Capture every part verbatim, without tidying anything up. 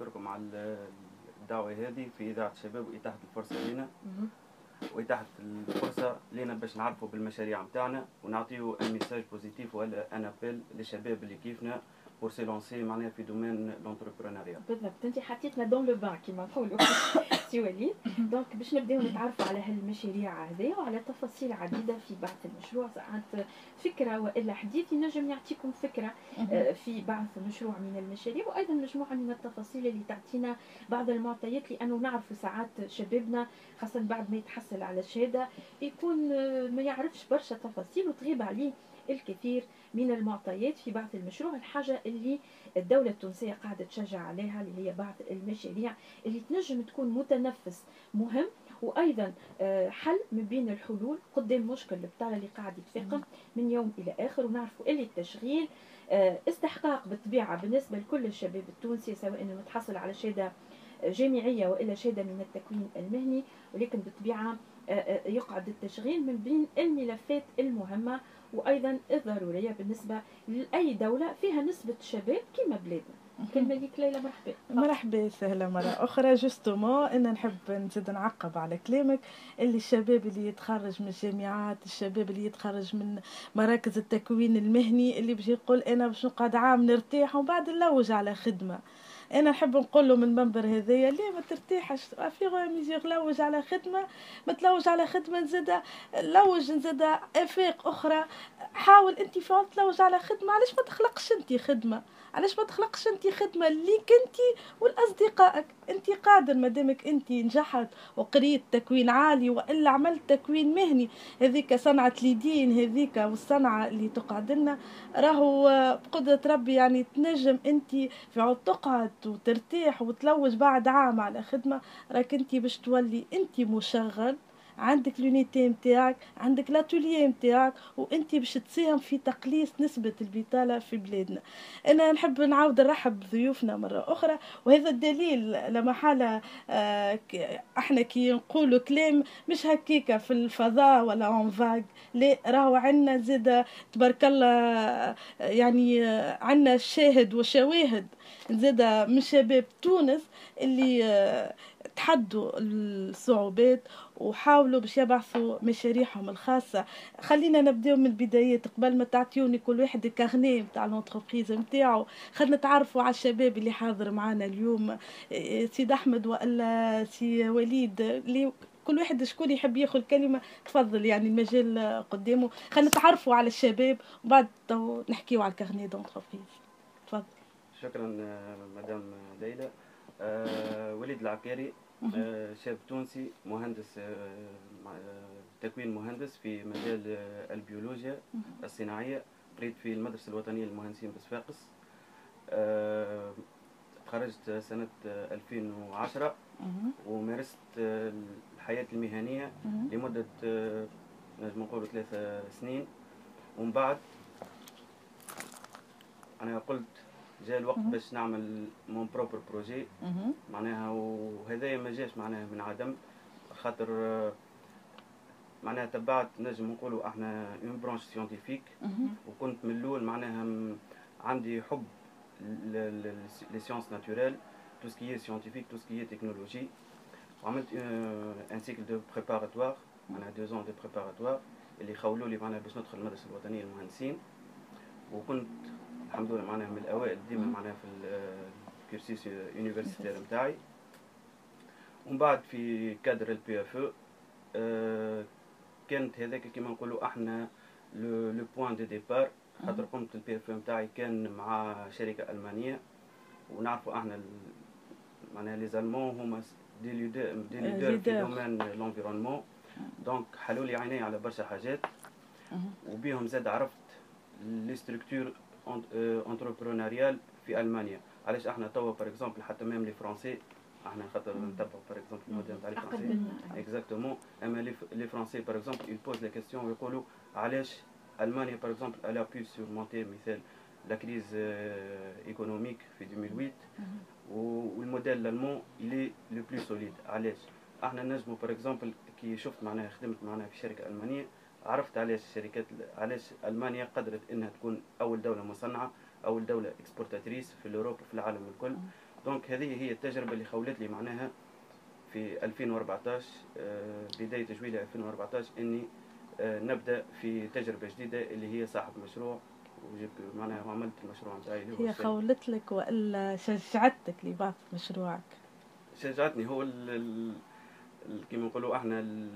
نشكركم على الدعوة هذه في إذاعة الشباب وإتاحة الفرصة لنا وإتاحة الفرصة لنا باش نعرفوا بالمشاريع نتاعنا ونعطيو ان ميساج بوزيتيف ولا ان ابيل للشباب اللي كيفنا بور سي لونسي معناها في دومين لونتربرونيا. بالضبط انت حطيتنا دون لو بان كيما نقولوا سي وليد. دونك باش نبداو نتعرفوا على هالمشاريع هذه وعلى تفاصيل عديده في بعض المشروع، ساعات فكره والا حديث ينجم يعطيكم فكره في بعض مشروع من المشاريع، وايضا مجموعه من التفاصيل اللي تعطينا بعض المعطيات، لانه نعرفوا ساعات شبابنا خاصه بعد ما يتحصل على الشهاده يكون ما يعرفش برشا تفاصيل وتغيب عليه الكثير من المعطيات في بعض المشروع. الحاجه اللي الدوله التونسيه قاعده تشجع عليها اللي هي بعض المشاريع اللي تنجم تكون متنفس مهم، وايضا حل من بين الحلول قدام مشكل البطاله اللي قاعد يتفاقم من يوم الى اخر. ونعرفوا اللي التشغيل استحقاق بالطبيعه بالنسبه لكل الشباب التونسي، سواء انه متحصل على شهاده جامعيه والا شهاده من التكوين المهني، ولكن بالطبيعه يقعد التشغيل من بين الملفات المهمه وايضا الضروريه بالنسبه لاي دوله فيها نسبه شباب كما بلادنا. كلمه ليك ليلى. مرحبا. مرحبا سهله مره اخرى. جوستومون انا نحب نزيد نعقب على كلامك اللي الشباب اللي يتخرج من الجامعات، الشباب اللي يتخرج من مراكز التكوين المهني اللي بيجي يقول انا باش نقعد عام نرتاح ومن بعد نلوج على خدمه، انا نحب نقول له من المنبر هذايا ليه ما ترتاحش في ميزيغ لوج على خدمه، ما تلوج على خدمه نزيد لوج نزيد افاق اخرى، حاول انت فعلا تلوج على خدمه. علاش ما تخلقش انت خدمه؟ علاش ما تخلقش انت خدمه ليك انت والاصدقائك؟ انت قادر مادامك انت نجحت وقريت تكوين عالي والا عملت تكوين مهني، هذيك صنعه ليدين هذيك والصنعه اللي تقعد لنا راهو بقدره ربي يعني تنجم انت في تقعد وترتاح وتلوج بعد عام على خدمه، راك انت باش تولي انت مشغل، عندك لونيتي نتاعك، عندك لاتوليي نتاعك، وانت باش تساهم في تقليص نسبه البطاله في بلادنا. انا نحب نعاود نرحب بضيوفنا مره اخرى، وهذا الدليل لما حاله آه احنا كي نقولوا كلام مش هكيكه في الفضاء ولا اون فاغ، لا راهو عندنا زيد تبارك الله يعني عندنا شاهد وشواهد زيد من شباب تونس اللي آه تحدوا الصعوبات وحاولوا باش يبعثوا مشاريعهم الخاصه. خلينا نبداو من البدايات قبل ما تعطيوني كل واحد الكارنيه نتاع لونتربريز نتاعو، خلينا نتعرفوا على الشباب اللي حاضر معنا اليوم، سيد احمد والا سي وليد، اللي كل واحد شكون يحب ياخذ كلمه تفضل، يعني المجال قدامه. خلينا نتعرفوا على الشباب وبعد نحكيوا على الكارنيه دونتربريز. تفضل. شكرا مدام ليلى. أه وليد العكاري، أه شاب تونسي مهندس، أه تكوين مهندس في مجال البيولوجيا الصناعيه، قريت في المدرسه الوطنيه للمهندسين بصفاقس. أه تخرجت سنه ألفين وعشرة ومارست الحياه المهنيه لمده أه نجم نقولوا ثلاثة سنين، ومن بعد انا قلت جاء الوقت باش نعمل مون بروبر بروجي معناها، وهذايا ما جاش معناها من عدم، خاطر معناها تبعت نجم نقولوا احنا اون برانش سيانتيفيك، وكنت من الاول معناها عندي حب لي سيونس ناتوريل، تو سكي سيانتيفيك تو سكي تكنولوجي، وعملت ان سيكل دو بريباراتوار معناها دو زون دو بريباراتوار اللي خولوا لي معناها باش ندخل المدرسه الوطنيه للمهندسين، وكنت الحمد لله معناها من الاوائل ديما معناها في الكورسيس يونيفرسيتير نتاعي. ومن بعد في كادر البي اف او كانت هذاك كيما نقولوا احنا لو بوين دو ديبار، خاطر قمت البي اف او نتاعي كان مع شركه المانيه، ونعرفوا احنا معناها لي زالمون هما دي ليدر دي ليدر في دومين لونفيرونمون، دونك حلوا لي عيني على برشا حاجات، وبيهم زاد عرفت لي ستركتور انتربرونيريال في المانيا. علاش احنا توا بار اكزومبل حتى ميم لي فرونسي احنا خاطر نتبعوا بار اكزومبل الموديل نتاع لي فرونسي اكزاكتومون، اما لي فرونسي بار اكزومبل يل بوز لا كيستيون ويقولوا علاش المانيا بار اكزومبل الا بو سورمونتي مثال لا كريز ايكونوميك في ألفين وثمانية والموديل الالمون اللي لو بلو سوليد. علاش احنا نجموا بار اكزومبل كي شفت معناها خدمت معناها في شركه المانيه، عرفت علاش الشركات علاش المانيا قدرت انها تكون اول دوله مصنعه، اول دوله اكسبورتاتريس في اوروبا وفي العالم الكل، دونك هذه هي التجربه اللي خولت لي معناها في ألفين وأربعطاش بدايه جويلية ألفين وأربعطاش اني نبدا في تجربه جديده اللي هي صاحب مشروع، وجبت معناها وعملت المشروع نتاعي. هي خولت لك والا شجعتك لبعض مشروعك؟ شجعتني هو كما نقولوا احنا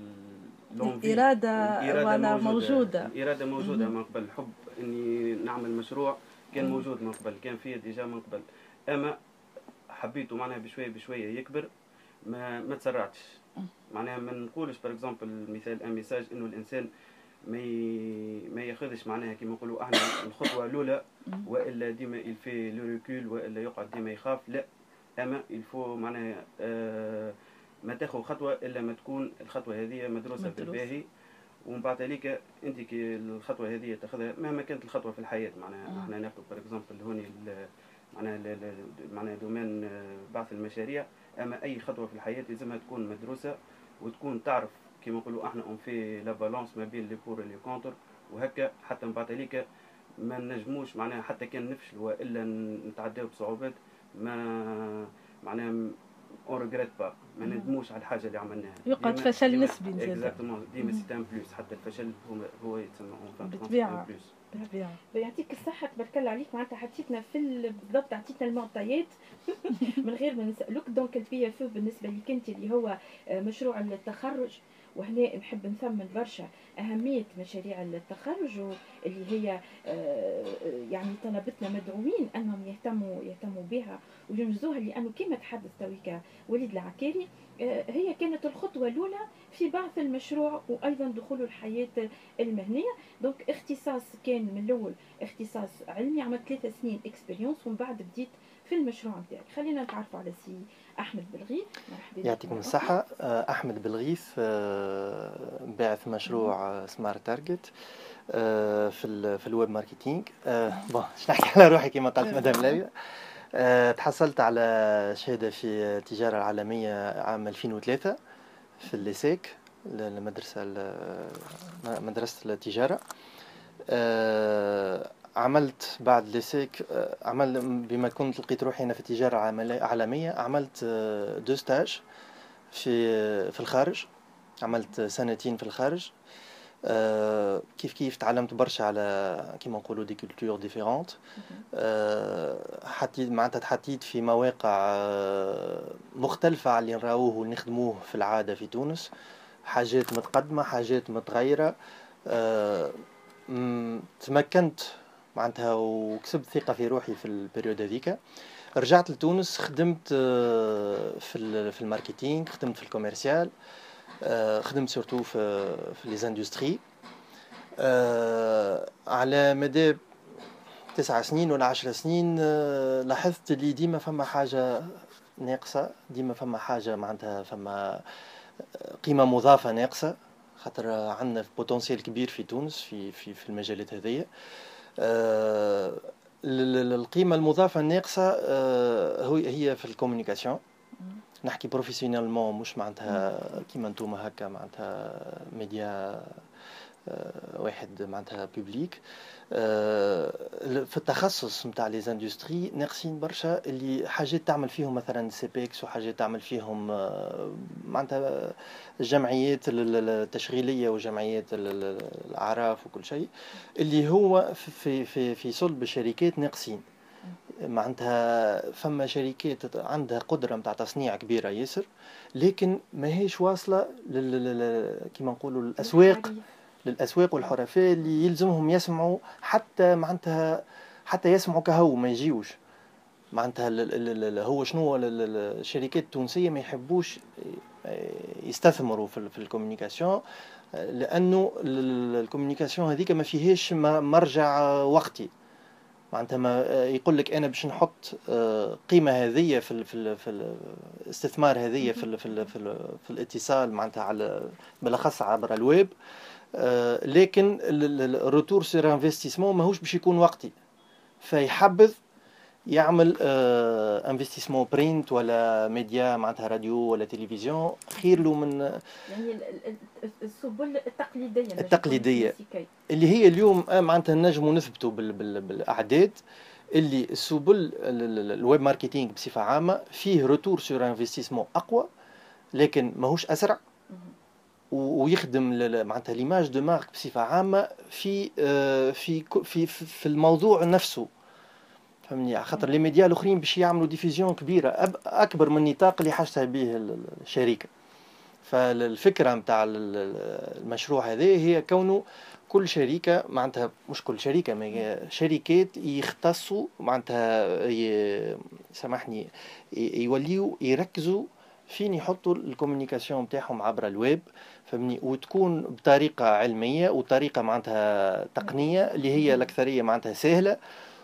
الاراده الإرادة موجوده الاراده موجوده من قبل. الحب اني نعمل مشروع كان موجود من قبل، كان فيه ديجا من قبل، اما حبيته معناها بشويه بشويه يكبر، ما ما تسرعتش. معناها ما نقولش بار اكزومبل مثال ان ميساج انه الانسان ما ما ياخذش معناها كما نقولوا احنا الخطوه الاولى، والا ديما يلفي لو ريكول، والا يقعد ديما يخاف. لا، اما يلفو معناها آه ما تاخذ خطوه الا ما تكون الخطوه هذه مدروسه بالباهي، ومن بعد ذلك انت كي الخطوه هذه تاخذها مهما كانت الخطوه في الحياه. معناها احنا ناخذ بار اكزومبل هوني معناها معناها دومين بعث المشاريع، اما اي خطوه في الحياه لازمها تكون مدروسه، وتكون تعرف كما نقولوا احنا اون في لا بالانس ما بين لي بور لي كونتر، وهكا حتى من بعد ذلك ما نجموش معناها حتى كان نفشل والا نتعداو بصعوبات، ما معناها اون ريغريت با، ما ندموش على الحاجه اللي عملناها. يقعد فشل نسبي زاد. اكزاكتومون، ديما سي ان بلوس، حتى الفشل هو هو يتسمى اون بالطبيعه. بالطبيعه يعطيك الصحه، تبارك الله عليك. معناتها حطيتنا في بالضبط، عطيتنا المعطيات من غير ما نسالوك. دونك البي اف بالنسبه لك انت اللي هو مشروع التخرج، وهنا نحب نثمن برشا أهمية مشاريع التخرج اللي هي يعني طلبتنا مدعوين أنهم يهتموا يهتموا بها وينجزوها، لأنه كما تحدث تويكا وليد العكاري هي كانت الخطوة الأولى في بعث المشروع وأيضا دخوله الحياة المهنية. دونك اختصاص كان من الأول اختصاص علمي، عملت ثلاثة سنين اكسبيريونس ومن بعد بديت في المشروع نتاعك. خلينا نتعرفوا على سي أحمد بالغيث. يعطيكم الصحة. أحمد بالغيث، باعث مشروع سمارت تارجت في في الويب ماركتينغ. بون باش نحكي على روحي كما قالت مدام ليلى. تحصلت على شهادة في التجارة العالمية عام ألفين وثلاثة في الليسيك، المدرسة مدرسة التجارة. عملت بعد ليسيك، عمل بما كنت لقيت روحي أنا في التجارة العالمية، عملت دو ستاج في في الخارج، عملت سنتين في الخارج. كيف كيف تعلمت برشا على كيما نقولوا دي كولتور ديفيرونت. حتى معناتها تحطيت في مواقع مختلفة على اللي نراوه ونخدموه في العادة في تونس، حاجات متقدمة حاجات متغيرة. تمكنت معناتها وكسبت ثقة في روحي في البريود هذيك. رجعت لتونس، خدمت في في الماركتينغ، خدمت في الكوميرسيال، خدمت سورتو في في لي زاندستري على مدى تسع سنين ولا عشر سنين. لاحظت اللي ديما فما حاجة ناقصة، ديما فما حاجة معناتها فما قيمة مضافة ناقصة، خاطر عندنا بوتنسيال كبير في تونس في في في المجالات هذية. القيمة المضافة الناقصة هي في الكوميونيكاسيون. نحكي بروفيسيونيلمون، مش معناتها كيما نتوما هكا معناتها ميديا واحد معناتها بوبليك. في التخصص نتاع لي زاندستري ناقصين برشا، اللي حاجات تعمل فيهم مثلا سيبيكس، وحاجات تعمل فيهم معناتها الجمعيات التشغيليه وجمعيات الاعراف وكل شيء، اللي هو في في في صلب الشركات ناقصين. معناتها فما شركات عندها قدرة متاع تصنيع كبيرة ياسر، لكن ما هيش واصلة لل كيما نقولوا الأسواق للأسواق والحرفاء اللي يلزمهم يسمعوا، حتى معناتها حتى يسمعوا كهو ما يجيوش. معناتها هو شنو الشركات التونسية ما يحبوش يستثمروا في في الكوميونيكاسيون، لأنه الكوميونيكاسيون هذيك ما فيهاش مرجع وقتي. معناتها ما يقول لك انا باش نحط قيمه هذيه في في في الاستثمار هذيه في في في, في الاتصال معناتها على بالاخص عبر الويب، لكن الروتور سير انفستيسمون ماهوش باش يكون وقتي، فيحبذ يعمل انفستيسمون برينت ولا ميديا معناتها راديو ولا تلفزيون، خير له من يعني السبل التقليديه التقليديه اللي هي اليوم معناتها نجموا نثبتوا بالاعداد اللي السبل الويب ماركتينغ بصفه عامه فيه روتور سور انفستيسمون اقوى، لكن ماهوش اسرع ويخدم معناتها ليماج دو مارك بصفه عامه في في في في الموضوع نفسه، فهمني؟ خاطر لي ميديا الاخرين باش يعملوا ديفيزيون كبيره اكبر من النطاق اللي حاجتها به الشركه. فالفكره نتاع المشروع هذا هي كونه كل شركه معناتها مش كل شركه ما شركات يختصوا معناتها سامحني يوليوا يركزوا فين يحطوا الكومونيكاسيون نتاعهم عبر الويب، فهمني؟ وتكون بطريقه علميه وطريقه معناتها تقنيه اللي هي الاكثريه معناتها سهله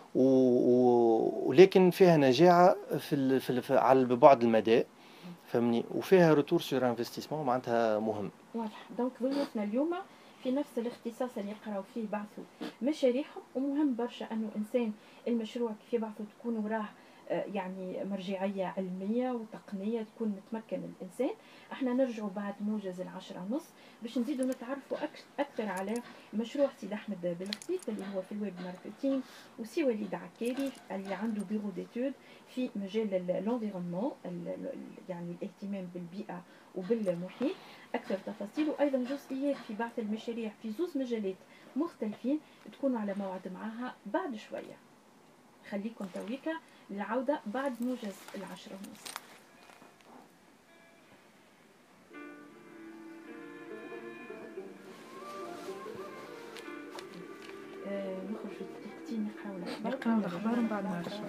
ولكن فيها نجاعه في, في على بعد المدى، فهمني؟ وفيها روتور سور انفستيسمون معناتها مهم. واضح. دونك ضيوفنا اليوم في نفس الاختصاص اللي يقراو فيه بعثوا مشاريعهم، ومهم برشا انه انسان المشروع كيف يبعثوا تكون وراه يعني مرجعيه علميه وتقنيه تكون متمكن الانسان. احنا نرجعوا بعد موجز العشرة ونص باش نزيدوا نتعرفوا اكثر على مشروع سيد احمد بلخطيف اللي هو في الويب ماركتينغ، وسي وليد عكاري اللي عنده بيرو ديتود في مجال الانفيرونمون يعني الاهتمام بالبيئه وبالمحيط. اكثر تفاصيل وايضا جزئيات في بعث المشاريع في زوز مجالات مختلفين تكونوا على موعد معها بعد شويه. خليكم تويكا للعودة بعد موجز العشرة ونص. آه نخرج دقيقتين نقراو الأخبار. نقراو الأخبار ومن بعد نرجعو.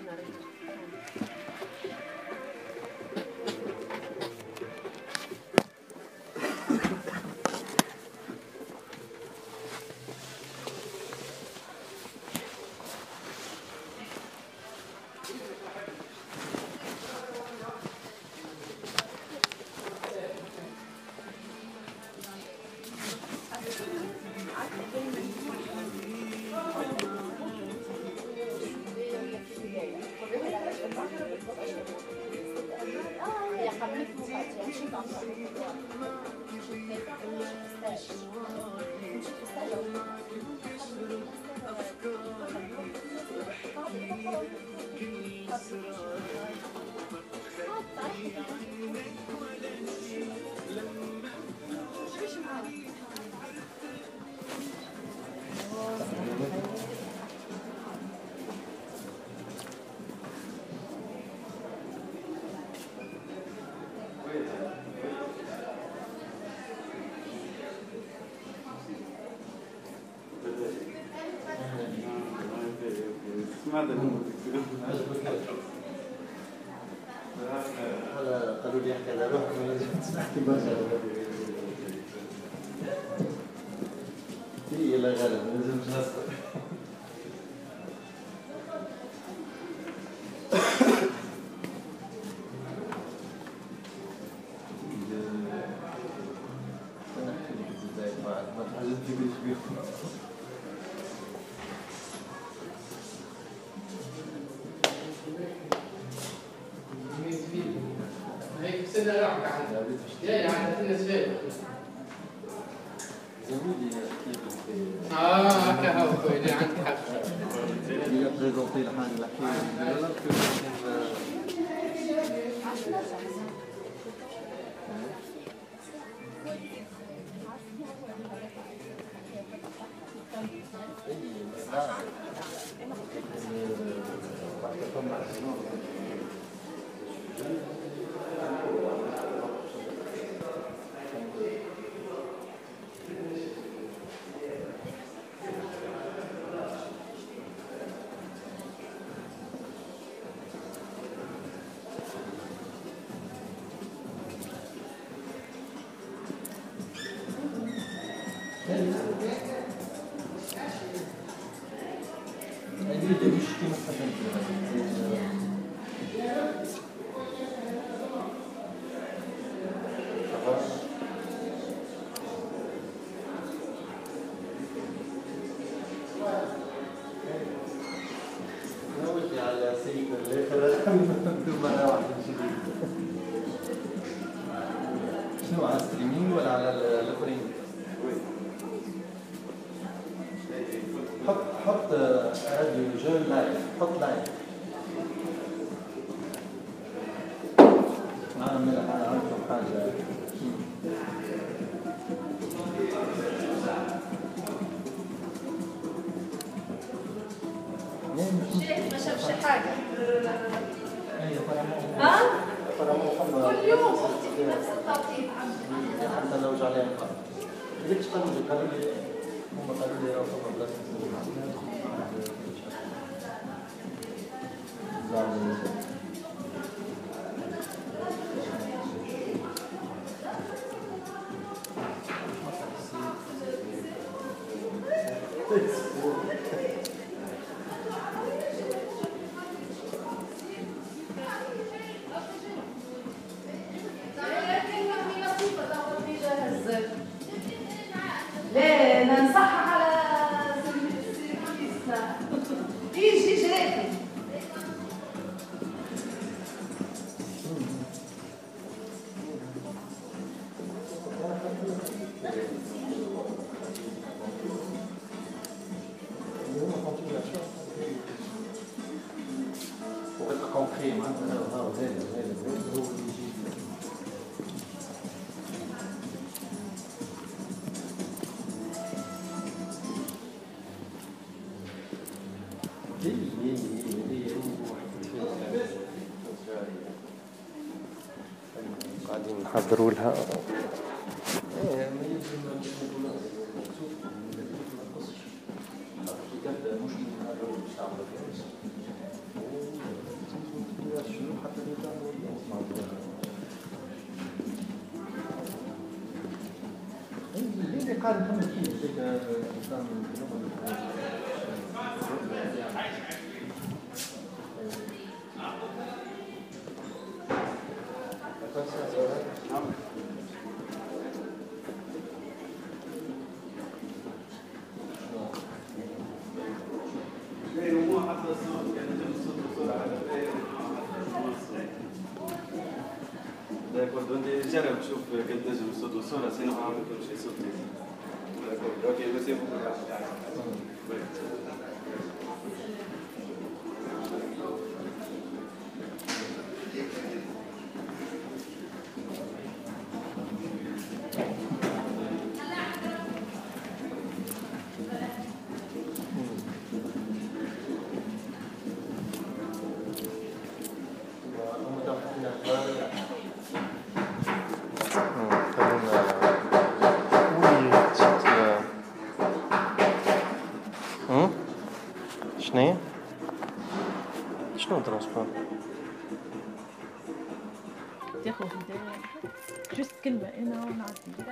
قالوا لي احكي على روحك ما لازمش تحكي برشا هي لا غالب ما لازمش نصبر. ما تحزنش بيهم اه هكا هو اللي عندك حق. هي بريزونتي الحاجه اللي حكينا شنو على ستريمينج ولا على الاخرين؟ حط حط راديو جو لايف حط لايف نعمل عندكم حاجة الشيخ ما شافش حاجة. ها؟ كل يوم أختي في نفس التوقيت عندي. حتى لو جعلها القلب. ليش قالوا لي قالوا لي هم قالوا لي راه فما بلاصة لا ننصحها على سيرفيسنا يجي جراكم قاعدين نحضروا لها جرب شوف كنت نجم الصوت والصورة سينو ما عملت شيء صوت اوكي بس يبقى شنو شنو ترونسبور تاخذ هدايا جست كلمة أنا ونعدي.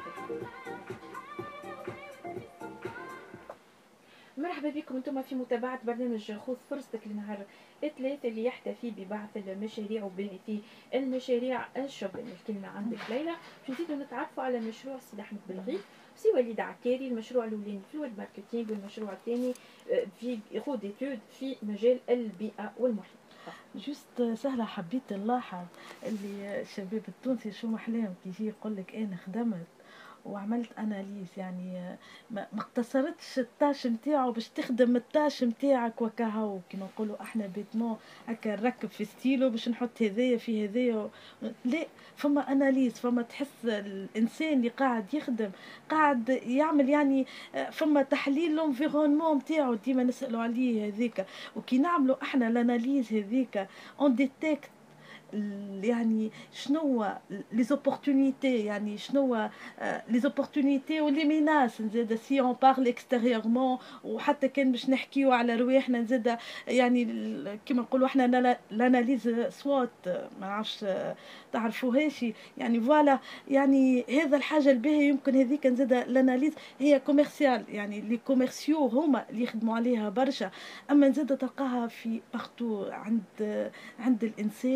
مرحبا بكم انتم في متابعة برنامج خذ فرصتك لنهار الثلاث اللي يحتفي ببعث المشاريع وباعثي المشاريع الشباب. الكلمة عندك ليلى. باش نزيدو نتعرفوا على مشروع السيد أحمد بالغيث سي وليد عكاري. المشروع الأولاني في الويب ماركتينغ والمشروع الثاني في خو ديتود في مجال البيئة والمحيط. جست سهلة حبيت نلاحظ اللي الشباب التونسي شو محلاهم كي يجي يقول لك أنا خدمت وعملت اناليز، يعني ما اقتصرتش التاش نتاعو باش تخدم التاش نتاعك وكهو كيما نقولوا احنا بيتمون هكا نركب في ستيلو باش نحط هذايا في هذايا، لا فما اناليز، فما تحس الانسان اللي قاعد يخدم قاعد يعمل يعني فما تحليل لونفيرونمون نتاعو ديما نسالوا عليه هذيك، وكي نعملوا احنا الاناليز هذيك اون ديتيكت يعني شنو لي زوبورتونيتي، يعني شنو لي زوبورتونيتي ولي ميناس نزيد سي اون بارل اكستيريورمون، وحتى كان باش نحكيو على رواحنا نزيد يعني كيما نقولوا احنا لاناليز سوات ما نعرفش تعرفوهاش يعني فوالا، يعني هذا الحاجه الباهيه يمكن هذيك نزيد لاناليز هي كوميرسيال، يعني لي كوميرسيو هما اللي يخدموا عليها برشا، اما نزيد تلقاها في بارتو عند عند الانسان اللي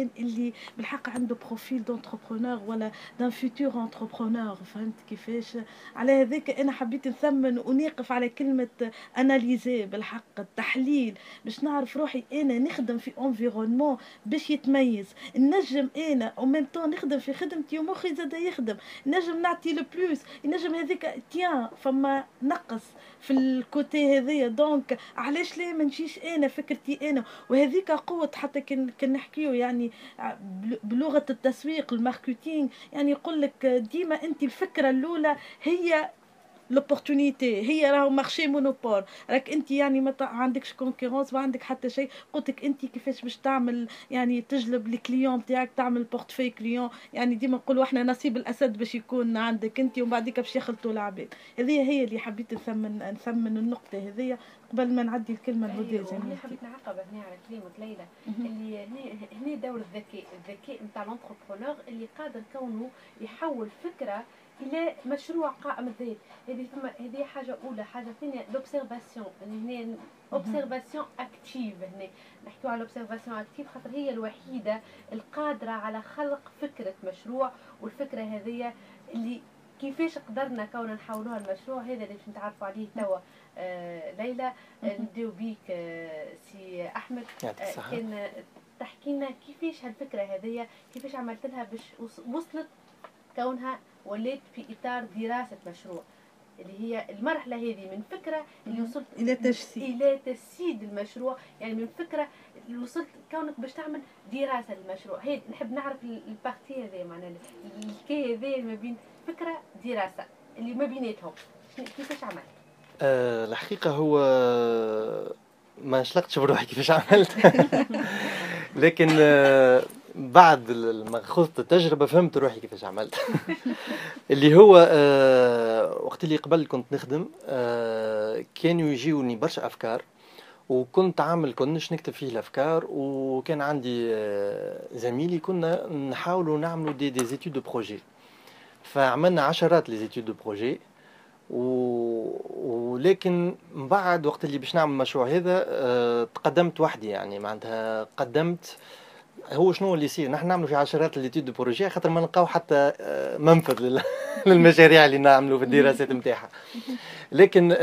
اللي بالحق عنده بروفيل دونتربرونور ولا دان فيتور انتربرونور. فهمت كيفاش؟ على هذاك انا حبيت نثمن ونقف على كلمه اناليزي، بالحق التحليل، باش نعرف روحي انا نخدم في انفيرونمون باش يتميز. نجم انا او ميم طون نخدم في خدمتي ومخي زاد يخدم، نجم نعطي لو بلوس، نجم هذيك تيان فما نقص في الكوتي هذيا. دونك علاش ليه ما نجيش انا فكرتي انا؟ وهذيك قوه. حتى كان كان نحكيو يعني بلغه التسويق الماركتينغ، يعني يقول لك ديما انت الفكره الاولى هي لوبورتونيتي، هي راهو مارشي مونوبول، راك انت يعني ما عندكش كونكورونس، ما عندك حتى شيء. قلت لك انت كيفاش باش تعمل يعني تجلب الكليون بتاعك، تعمل بورتفوي كليون. يعني ديما نقولوا احنا نصيب الاسد باش يكون عندك انت، ومن بعديك باش يخلطوا العباد. هذه هي اللي حبيت نثمن نثمن النقطه هذه قبل ما نعدي الكلمه لهدى. أيوة زميلتي حبيت نعقب هنا على كلمه ليلى، اللي هنا هنا دور الذكاء، الذكاء نتاع لونتربرونور اللي قادر كونه يحول فكره الى مشروع قائم الذات. هذه ثم هذه حاجه اولى. حاجه ثانيه لوبسيرفاسيون، يعني هنا اوبسيرفاسيون اكتيف. هنا نحكيو على لوبسيرفاسيون اكتيف خاطر هي الوحيده القادره على خلق فكره مشروع، والفكره هذه اللي كيفاش قدرنا كون نحولوها المشروع هذا اللي باش نتعرفوا عليه توا. آه ليلى نبداو بيك. آه سي احمد، آه كان تحكي لنا كيفاش هالفكره هذه كيفاش عملت لها باش وصلت كونها ولات في اطار دراسه مشروع، اللي هي المرحله هذه من فكره اللي وصلت الى تجسيد الى تجسيد المشروع. يعني من فكره اللي وصلت كونك باش تعمل دراسه للمشروع. هي نحب نعرف البارتي هذه، معناها الكي هذه ما بين فكره دراسه اللي ما بيناتهم كيفاش عملت؟ أه الحقيقه هو ما شلقتش بروحي كيفاش عملت لكن أه بعد ما خذت التجربه فهمت روحي كيفاش عملت اللي هو أه وقت اللي قبل كنت نخدم أه كانوا يجيوني برشا افكار، وكنت عامل كنش نكتب فيه الافكار، وكان عندي أه زميلي كنا نحاولوا نعملوا دي دي زيتود دو بروجي. فعملنا عشرات لي زيتود دو بروجي، ولكن من بعد وقت اللي باش نعمل المشروع هذا أه تقدمت وحدي. يعني معناتها قدمت هو شنو اللي يصير، نحن نعملوا في عشرات ليتود دو بروجي خاطر ما نلقاو حتى منفذ للمشاريع اللي نعملوا في الدراسات نتاعها. لكن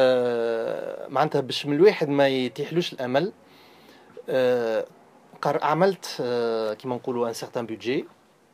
آه معناتها باش من الواحد ما يتيحلوش الامل، آه عملت آه كيما نقولوا ان سيغتان بودجي،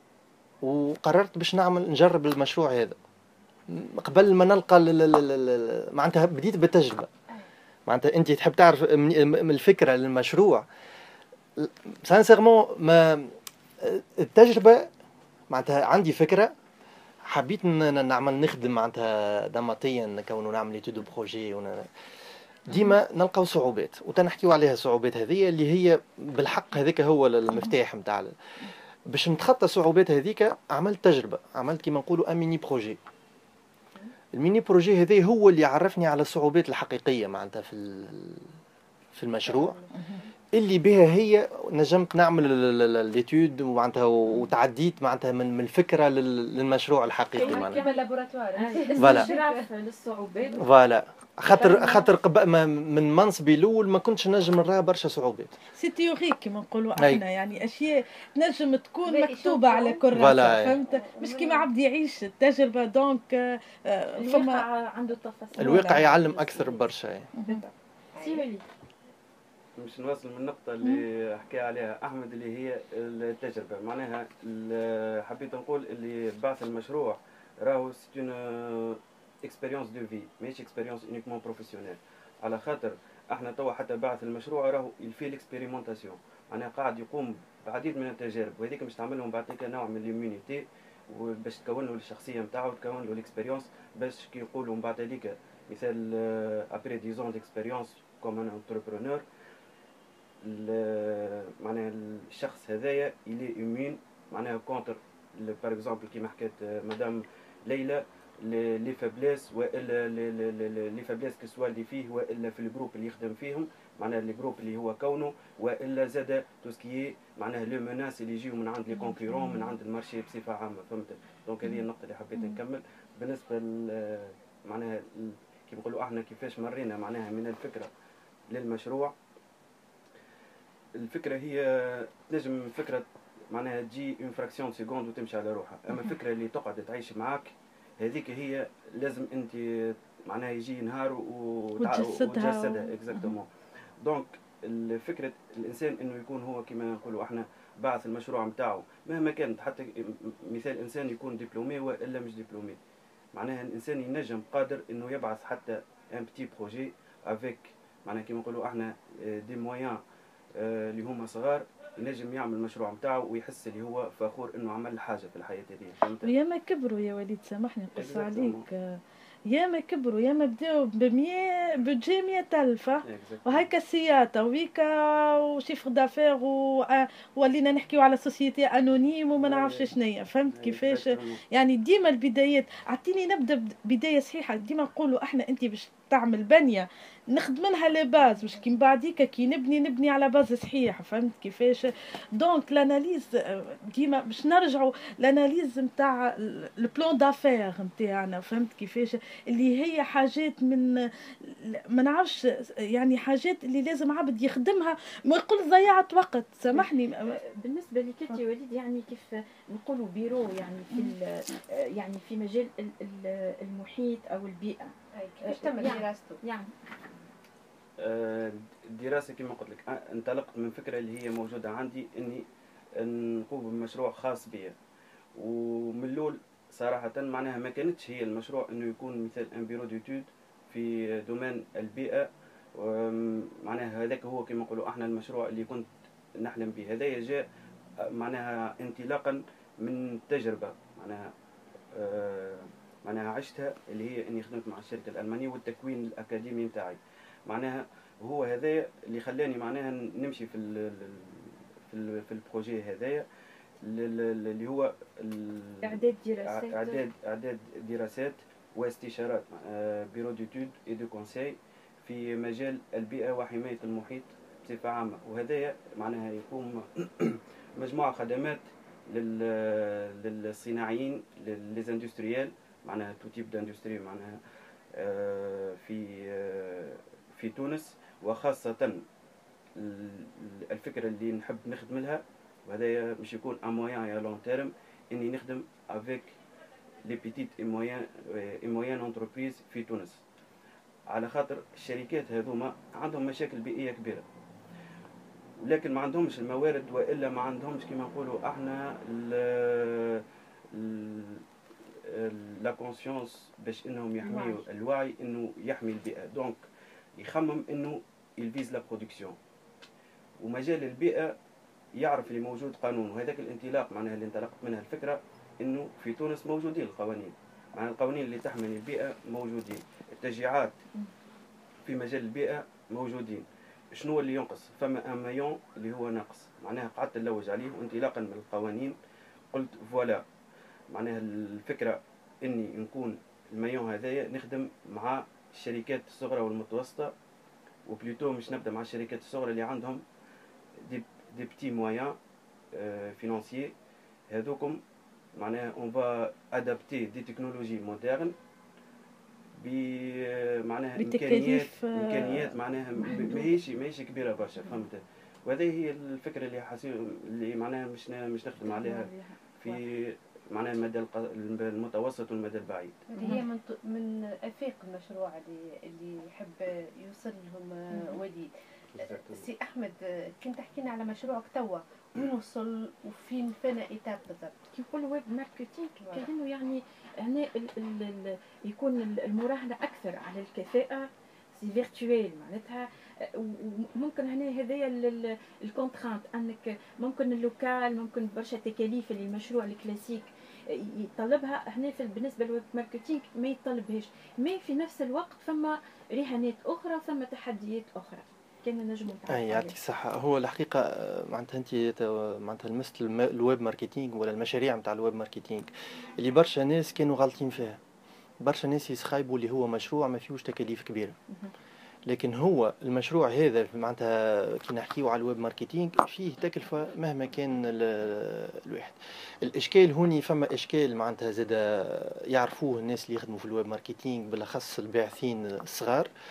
وقررت باش نعمل نجرب المشروع هذا قبل ما نلقى معناتها بديت بالتجربه. معناتها انت تحب تعرف من الفكره للمشروع سانسيرمون، ما التجربه معناتها عندي فكره حبيت نعمل نخدم معناتها نمطيا نكونوا نعمل ايتود دو بروجي، ديما نلقاو صعوبات وتنحكيو عليها. الصعوبات هذه اللي هي بالحق هذيك هو المفتاح نتاع باش نتخطى الصعوبات هذيك. عملت تجربه، عملت كيما نقولوا ان ميني بروجي. الميني بروجي هذا هو اللي عرفني على الصعوبات الحقيقيه معناتها في في المشروع، اللي بها هي نجمت نعمل ليتود معناتها وتعديت معناتها من من الفكره للمشروع الحقيقي معناتها كما لابوراتوار. فوالا للصعوبات فوالا خاطر خاطر من منصبي الاول ما كنتش نجم نرى برشا صعوبات. سي تيوريك كما نقولوا احنا، يعني اشياء نجم تكون مكتوبه على كراسه، فهمت؟ مش كيما عبد يعيش التجربه. دونك فما عنده التفاصيل، الواقع يعلم اكثر برشا. سي باش نواصل من النقطة اللي حكى عليها أحمد اللي هي التجربة. معناها حبيت نقول اللي بعث المشروع راهو سي اون اكسبيريونس دو في، ماهيش اكسبيريونس اونيكمون بروفيسيونيل. على خاطر احنا توا حتى بعث المشروع راهو يلفي الاكسبيريمونتاسيون، معناها قاعد يقوم بعديد من التجارب، وهذيك باش تعملهم بعد كده نوع من اليومينيتي، وباش تكون له الشخصية نتاعو وتكون له الاكسبيريونس، باش كي يقولوا من بعد هذيك مثال ابري ديزون ديكسبيريونس كوم ان انتربرونور، معناها الشخص هذايا يلي يمين معناها كونتر باغ اكزومبل كيما حكات مدام ليلى لي فابليس والا لي فابليس كسوا اللي فيه والا في الجروب اللي يخدم فيهم، معناها الجروب اللي هو كونه، والا زاد توسكي معناها لو مناس اللي يجيو من عند لي كونكورون من عند المارشي بصفه عامه. فهمت؟ دونك هذه النقطه اللي حبيت نكمل بالنسبه معناها كيما نقولوا احنا كيفاش مرينا معناها من الفكره للمشروع. الفكره هي تنجم فكره معناها تجي اون فراكسيون سيكوند وتمشي على روحها، اما الفكره اللي تقعد تعيش معاك هذيك هي لازم انت معناها يجي نهار وتجسدها اكزاكتومون. دونك الفكره الانسان انه يكون هو كما نقولوا احنا باعث المشروع نتاعو مهما كانت، حتى مثال انسان يكون دبلومي والا مش دبلومي، معناها الانسان ينجم قادر انه يبعث حتى ان بتي بروجي افيك معناها كما نقولوا احنا دي مويان اللي هما صغار، ينجم يعمل المشروع نتاعو ويحس اللي هو فخور انه عمل حاجه في الحياه هذه. فهمت؟ وياما كبروا يا وليد، سامحني نقص عليك، ياما كبروا ياما بداو بمية بجي مية ألف وهيكا سياطة وهيكا وشيفر دافير وولينا نحكيو على سوسيتي انونيم وما نعرفش شنيا. فهمت كيفاش؟ يعني ديما البدايات، اعطيني نبدا بدايه صحيحه. ديما نقولوا احنا انت باش تعمل بنيه نخدم منها لي باز، باش كي من بعديك كي نبني نبني على باز صحيح. فهمت كيفاش؟ دونك لاناليز ديما باش نرجعوا لاناليز نتاع البلان دافير نتاعنا. فهمت كيفاش؟ اللي هي حاجات من ما نعرفش، يعني حاجات اللي لازم عبد يخدمها ما يقول ضيعت وقت. سامحني بالنسبه لك انت وليد، يعني كيف نقولوا بيرو يعني في يعني في مجال المحيط او البيئه كيفاش تم دراسته؟ يعني الدراسه كما قلت لك انطلقت من فكره اللي هي موجوده عندي اني نقوم بمشروع خاص بي، ومن الاول صراحه معناها ما كانتش هي المشروع انه يكون مثل ان بيرو ديتود في دومين البيئه، معناها هذاك هو كما نقولوا احنا المشروع اللي كنت نحلم به. هذايا جاء معناها انطلاقا من تجربه معناها آه معناها عشتها، اللي هي اني خدمت مع الشركه الالمانيه والتكوين الاكاديمي نتاعي. معناها هو هذايا اللي خلاني معناها نمشي في ال في ال في البروجي هذايا اللي هو اعداد دراسات اعداد اعداد دراسات واستشارات بيرو ديتود اي دو كونساي في مجال البيئه وحمايه المحيط بصفه عامه. وهذايا معناها يقوم مجموعه خدمات للصناعيين ليزاندستريال، معناها تو تيب داندستري معناها في في تونس، وخاصه الفكره اللي نحب نخدم لها، وهذا مش يكون ان مويان يا لون تيرم، اني نخدم افيك لي بيتيت اي مويان اي مويان انتربريز في تونس، على خاطر الشركات هذوما عندهم مشاكل بيئيه كبيره، ولكن ما عندهمش الموارد والا ما عندهمش كما نقولوا احنا لا كونسيونس باش انهم يحميوا الوعي انه يحمي البيئه. دونك يخمم انه يلفيز لا برودكسيون، ومجال البيئه يعرف اللي موجود قانون. وهذاك الانطلاق معناها اللي انطلقت منها الفكره انه في تونس موجودين القوانين، معناها القوانين اللي تحمي البيئه موجودين، التشجيعات في مجال البيئه موجودين. شنو اللي ينقص؟ فما ان مايون اللي هو ناقص، معناها قعدت نلوج عليه وانطلاقا من القوانين قلت فوالا، معناها الفكره اني نكون المايون هذايا نخدم مع الشركات الصغرى والمتوسطه، وبلوتو مش نبدا مع الشركات الصغرى اللي عندهم دي دي بتي مويان فينانسيي. هذوكم معناها اون فا ادابتي دي تكنولوجي مودرن ب معناها امكانيات امكانيات معناها ماهيش ماهيش كبيره برشا. فهمت؟ وهذه هي الفكره اللي حاسين اللي معناها مش مش نخدم عليها في معناها المدى المتوسط والمدى البعيد. اللي هي من من افاق المشروع اللي اللي يحب يوصل لهم وليد. سي احمد، كنت تحكينا على مشروعك توا، وين وصل وفين فينا ايتاب بالضبط؟ كي نقول ويب ماركتينغ كانه يعني هنا ال ال يكون المراهنه اكثر على الكفاءه، سي فيرتويل معناتها. وممكن هنا هذايا الكونترانت انك ممكن اللوكال، ممكن برشا تكاليف اللي المشروع الكلاسيك يطلبها، هنا في بالنسبه للويب ماركتينغ ما يطلبهاش، ما في نفس الوقت فما رهانات اخرى، فما تحديات اخرى كان نجموا نتعرفوا عليها. يعطيك الصحة. هو الحقيقة معناتها أنت معناتها لمست الويب ماركتينغ ولا المشاريع نتاع الويب ماركتينغ اللي برشا ناس كانوا غالطين فيها. برشا ناس يسخايبوا اللي هو مشروع ما فيهوش تكاليف كبيرة، لكن هو المشروع هذا معناتها كي نحكيو على الويب ماركتينغ فيه تكلفة مهما كان الواحد. الإشكال هوني فما إشكال معناتها زاد يعرفوه الناس اللي يخدموا في الويب ماركتينغ بالأخص الباحثين الصغار،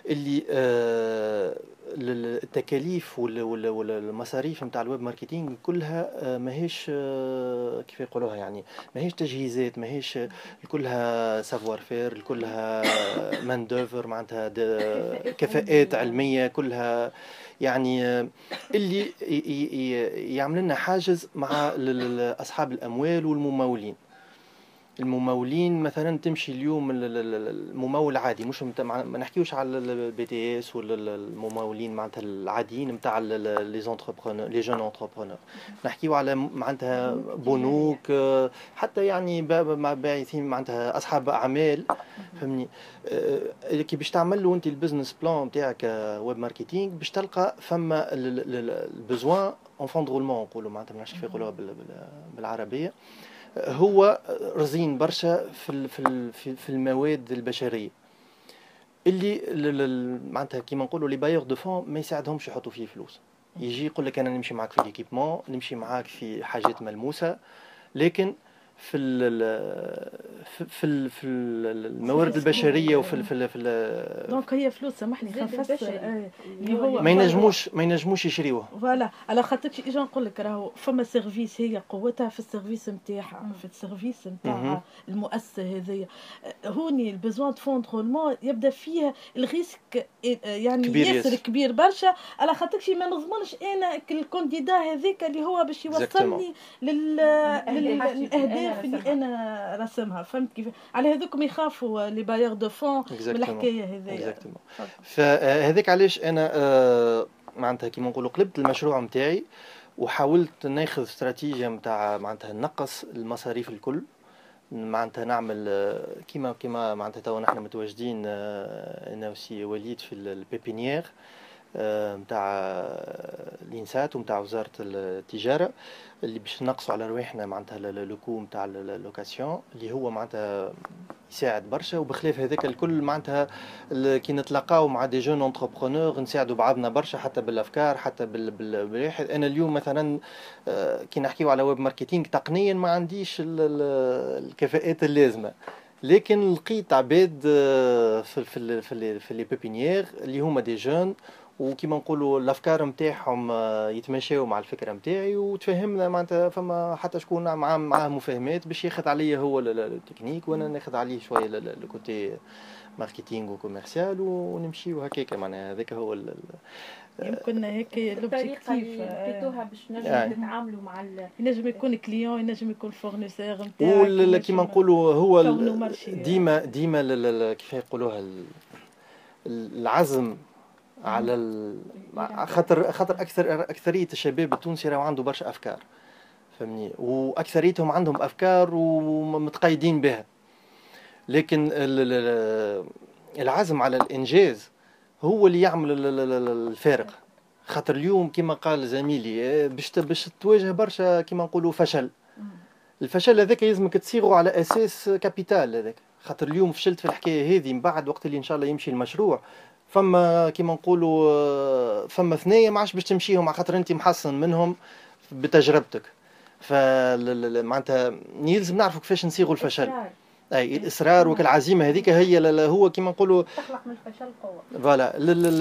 اللي آه التكاليف والمصاريف نتاع الويب ماركتينغ كلها ماهيش كيف يقولوها يعني ماهيش تجهيزات ماهيش كلها سافوار فير كلها مان دوفر معناتها كفاءات علميه كلها يعني اللي يعمل لنا حاجز مع اصحاب الاموال والممولين. الممولين مثلا تمشي اليوم الممول العادي مش ما نحكيوش على البي تي اس ولا الممولين معناتها العاديين نتاع لي زونتربرونور لي جون انتربرونور نحكيو على معناتها بنوك حتى يعني مع باعثين معناتها اصحاب اعمال فهمني كي باش تعمل له انت البزنس بلان نتاعك ويب ماركتينغ باش تلقى فما البزوان اون فون رولمون نقولوا معناتها ما نعرفش كيف يقولوها بالعربيه هو رزين برشا في في في المواد البشريه اللي معناتها كيما نقولوا لي بايور دو فون ما يساعدهمش يحطوا فيه فلوس. يجي يقول لك انا نمشي معاك في ليكيبمون نمشي معاك في حاجات ملموسه لكن في في في الموارد البشريه وفي في في دونك هي فلوس سامحني خفص اللي هو ما ينجموش ما ينجموش يشريوه فوالا على خاطرش اجا نقول لك راهو فما سيرفيس هي قوتها في السيرفيس نتاعها في السيرفيس نتاع المؤسسه هذه هوني البزوان دو فون رولمون يبدا فيها الريسك يعني ياسر كبير برشا على خاطرش ما نضمنش انا الكانديدا هذيك اللي هو باش يوصلني للاهداف اللي انا رسمها فهمت كيف على هذوكم يخافوا لي بايور دو فون من الحكايه هذيا فهذاك علاش انا آه معناتها كيما نقولوا قلبت المشروع نتاعي وحاولت ناخذ استراتيجيه نتاع معناتها نقص المصاريف الكل معناتها نعمل كيما كيما معناتها تو نحن متواجدين انا وسي وليد في البيبينيير نتاع الانسات ونتاع وزاره التجاره اللي باش نقصوا على رواحنا معناتها لوكو نتاع اللوكاسيون اللي هو معناتها يساعد برشا وبخلاف هذاك الكل معناتها كي نتلاقاو مع دي جون انتربرونور نساعدوا بعضنا برشا حتى بالافكار حتى بالواحد. انا اليوم مثلا كي نحكيو على ويب ماركتينغ تقنيا ما عنديش الكفاءات اللازمه لكن لقيت عباد في في في في لي بيبينيير اللي هما دي جون وكيما نقولوا الافكار نتاعهم يتماشاو مع الفكره نتاعي وتفهمنا معناتها فما حتى شكون معاه معاه مفاهمات باش ياخذ عليا هو التكنيك وانا ناخذ عليه شويه الكوتي ماركتينغ وكوميرسيال ونمشيو هكاك معناها هذاك هو يمكن هيك لوبجيكتيف لقيتوها باش نجموا نتعاملوا مع ينجم يكون كليون ينجم يكون فورنيسور نتاعك ولا كيما نقولوا هو ديما ديما كيف يقولوها العزم على ال... خاطر خاطر اكثر اكثريه الشباب التونسي راهو عنده برشا افكار فهمني واكثريتهم عندهم افكار ومتقيدين بها لكن العزم على الانجاز هو اللي يعمل الفارق. خاطر اليوم كما قال زميلي باش باش تواجه برشا كما نقولوا فشل الفشل هذاك لازمك تصيغه على اساس كابيتال هذاك خاطر اليوم فشلت في الحكايه هذه من بعد وقت اللي ان شاء الله يمشي المشروع فما كيما نقولوا فما ثنايا ما عادش باش تمشيهم على خاطر انت محصن منهم بتجربتك فمعناتها يلزم نعرفوا كيفاش نصيغوا الفشل اي الاصرار وكالعزيمه هذيك هي هو كيما نقولوا تخلق من الفشل قوه فوالا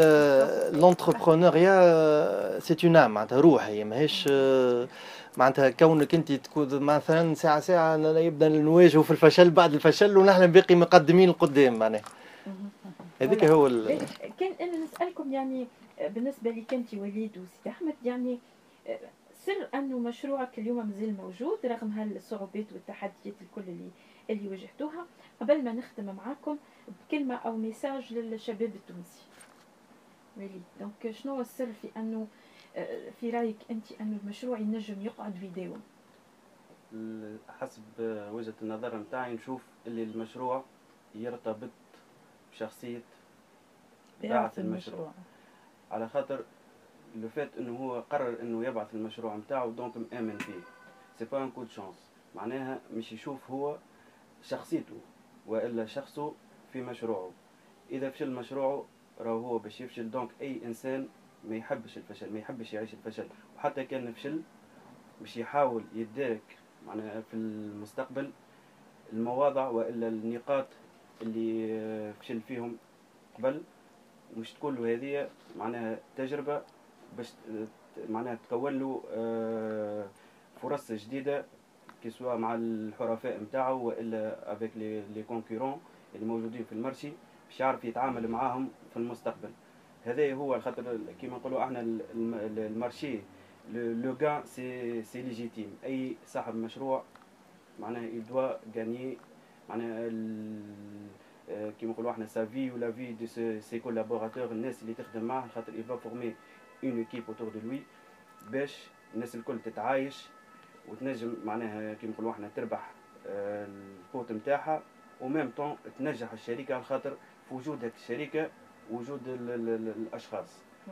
لونتربرونوريا سي اون ام معناتها روح هي ماهيش معناتها كونك انت تكون مثلا ساعه ساعه يبدا نواجهوا في الفشل بعد الفشل ونحن باقي مقدمين لقدام معناها هذيك هو ال... كان انا نسالكم يعني بالنسبه لي كنت وليد وسيدي احمد يعني سر انه مشروعك اليوم مازال موجود رغم هالصعوبات والتحديات الكل اللي اللي واجهتوها قبل ما نختم معاكم بكلمه او ميساج للشباب التونسي وليد دونك شنو هو السر في انه في رايك انت انه المشروع ينجم يقعد فيديو؟ حسب وجهه النظر نتاعي نشوف اللي المشروع يرتبط بشخصيه باعث المشروع على خاطر لو فات انه هو قرر انه يبعث المشروع نتاعو دونك مآمن فيه سي با ان كود شانس معناها مش يشوف هو شخصيته والا شخصه في مشروعه اذا فشل مشروعه راهو هو باش يفشل دونك اي انسان ما يحبش الفشل ما يحبش يعيش الفشل وحتى كان فشل باش يحاول يدارك معناها في المستقبل المواضع والا النقاط اللي فشل فيهم قبل مش تكون له هذه معناها تجربة باش معناها تكون له فرص جديدة كسوا مع الحرفاء نتاعو والا افيك لي لي كونكورون اللي موجودين في المارشي باش يعرف يتعامل معاهم في المستقبل. هذا هو خاطر كيما نقولوا احنا المارشي لو غان سي سي ليجيتيم. اي صاحب مشروع معناها يدوا غاني معناها كيما نقولوا احنا سا في ولا في دو سي كولابوراتور الناس اللي تخدم معاه خاطر يفا فورمي اون ايكيب اوتور دو لوي باش الناس الكل تتعايش وتنجم معناها كيما نقولوا احنا تربح القوت نتاعها وميم طون تنجح الشركه على خاطر في وجود هذه الشركه وجود ال ال ال الاشخاص.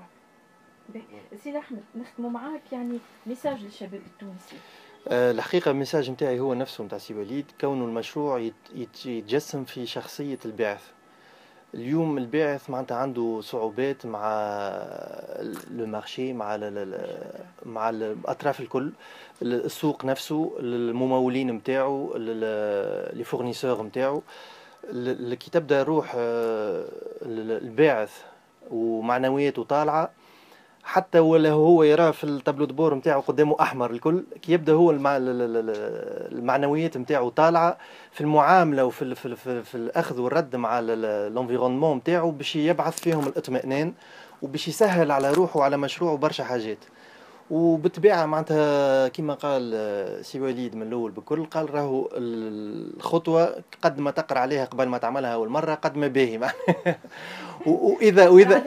سي احمد نختموا معاك يعني ميساج للشباب التونسي. أه الحقيقه الميساج نتاعي هو نفسه نتاع سي وليد، كونه المشروع يتجسم في شخصيه الباعث. اليوم الباعث معناتها عنده صعوبات مع لو مارشي، مع مع الاطراف الكل، السوق نفسه، الممولين نتاعو، لي فورنيسور نتاعو. كي تبدا روح الباعث ومعنوياته طالعه، حتى ولا هو يراه في التابلو دبور نتاعو قدامه احمر الكل، كي يبدا هو المعنويات نتاعو طالعه في المعامله وفي ال في, ال في, في الاخذ والرد مع الانفيرونمون نتاعو، باش يبعث فيهم الاطمئنان وباش يسهل على روحه وعلى مشروعه برشا حاجات. وبالطبيعه معناتها كما قال سي وليد من الاول بكل، قال راهو الخطوه قد ما تقرا عليها قبل ما تعملها اول مره قد ما باهي واذا واذا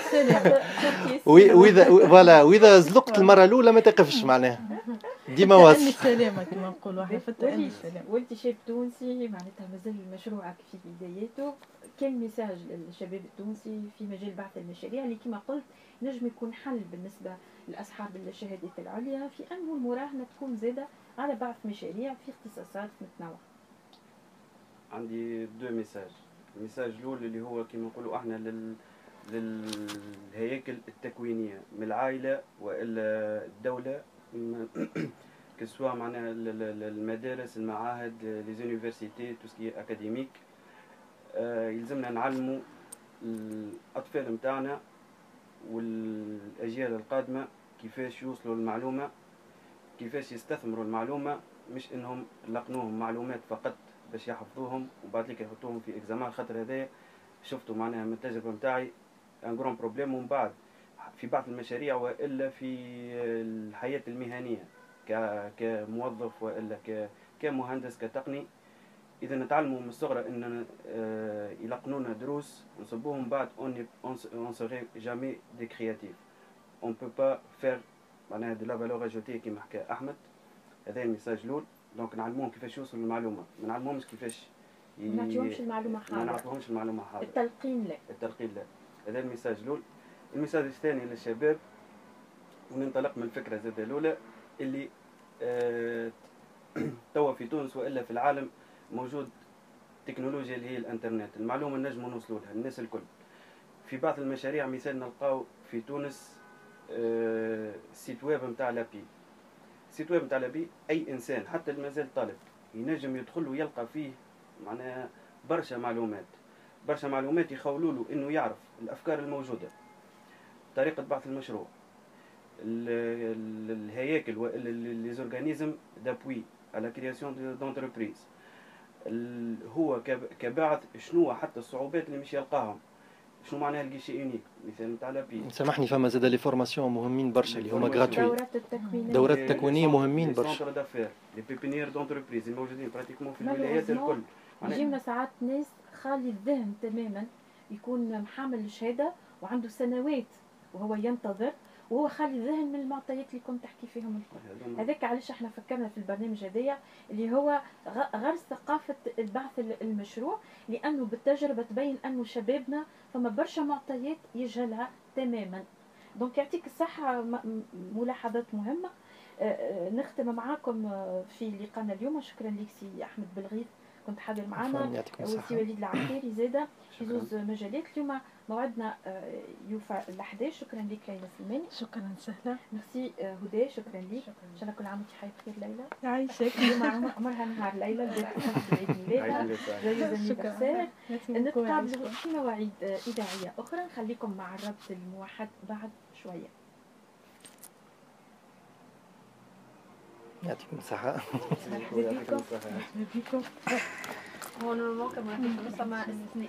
واذا فوالا واذا زلقت المره الاولى ما تقفش معناها ديما واصل السلامه كما نقولوا احنا في التأني السلام. وانت شاب تونسي معناتها مازال مشروعك في بداياته، كان ميساج للشباب التونسي في مجال بعث المشاريع اللي كما قلت نجم يكون حل بالنسبه لاصحاب الشهادات العليا في انه المراهنه تكون زاده على بعث مشاريع في اختصاصات متنوعه؟ عندي دو ميساج. الميساج الاول اللي هو كما نقولوا احنا لل للهياكل التكوينيه من العائله والا الدوله كسوا معناها المدارس، المعاهد، لي زونيفرسيتي، تو سكي اكاديميك. يلزمنا نعلموا الاطفال نتاعنا والاجيال القادمه كيفاش يوصلوا للمعلومه، كيفاش يستثمروا المعلومه، مش انهم يلقنوهم معلومات فقط باش يحفظوهم وبعد لك يحطوهم في اكزامان. خاطر هذايا شفتوا معناها من التجربه نتاعي ان غران بروبليم. ومن بعد في بعض المشاريع والا في الحياه المهنيه كموظف والا كمهندس كتقني، اذا نتعلموا من الصغرى ان يلقنونا دروس نصبوهم بعد اون سوري جامي دي كرياتيف، اون بو با فير معناها دو لا فالور اجوتي كيما حكى احمد. هذا الميساج الاول. دونك نعلموهم كيفاش يوصلوا للمعلومه، ما نعلموهمش كيفاش ي... ما نعطيهمش المعلومه حاضره، ما نعطيهمش المعلومه حاضره، التلقين لا التلقين لا. هذا الميساج الاول. الميساج الثاني للشباب، وننطلق من الفكره زاد الاولى اللي آه توا في تونس والا في العالم موجود تكنولوجيا اللي هي الانترنت، المعلومه نجموا نوصلوا لها الناس الكل. في بعض المشاريع مثال نلقاو في تونس آه سيت ويب نتاع لابي، سيت ويب نتاع لابي اي انسان حتى اللي مازال طالب ينجم يدخل ويلقى فيه معناها برشا معلومات، برشا معلومات يخولوا له انه يعرف الافكار الموجوده، طريقه بحث المشروع، الهياكل لي زورغانيزم دابوي على كرياسيون دونتربريز، هو كباعث شنو حتى الصعوبات اللي مش يلقاهم، شنو معناها الجيشي يونيك مثال نتاع لابي. سامحني فما زاد لي فورماسيون مهمين برشا اللي هما غراتوي، دورات التكوينيه دورات التكوينيه مهمين برشا، لي سونتر دافير، لي بيبينيير دونتربريز الموجودين براتيكمون في الولايات الكل. يجينا ساعات ناس خالي الذهن تماما، يكون محامل الشهاده وعنده سنوات وهو ينتظر وهو خالي الذهن من المعطيات اللي كنت تحكي فيهم الكل. هذاك علاش احنا فكرنا في البرنامج هذايا اللي هو غرس ثقافه البحث المشروع، لانه بالتجربه تبين انه شبابنا فما برشا معطيات يجهلها تماما. دونك يعطيك الصحه، ملاحظات مهمه. نختم معاكم في لقاءنا اليوم. شكرا لك سي احمد بلغيث كنت حاضر معنا، يعطيكم الصحة. وسي وليد العقيري زاده في زوز مجالات. اليوم موعدنا يوفى الحداش. شكرا لك ليلى سلماني. شكرا سهلة. ميرسي هدى، شكرا لك. ان شاء الله كل عام وانت حي بخير ليلى. يعيشك. اليوم عمرها نهار ليلى، البارح عيد ميلادها. جويز انيفرسير. نتقابلوا في مواعيد اذاعيه اخرى. نخليكم مع الربط الموحد بعد شويه. يعطيكم الصحة. مرحبا بكم. هون نورمال كمان نص مع استثناء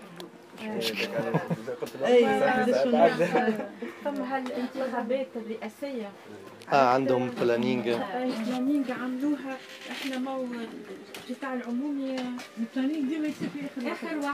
ثم هالانتخابات الرئاسيه اه عندهم بلانينج بلانينج عملوها. احنا مو القطاع العمومي البلانينج ديما يصير في اخر اخر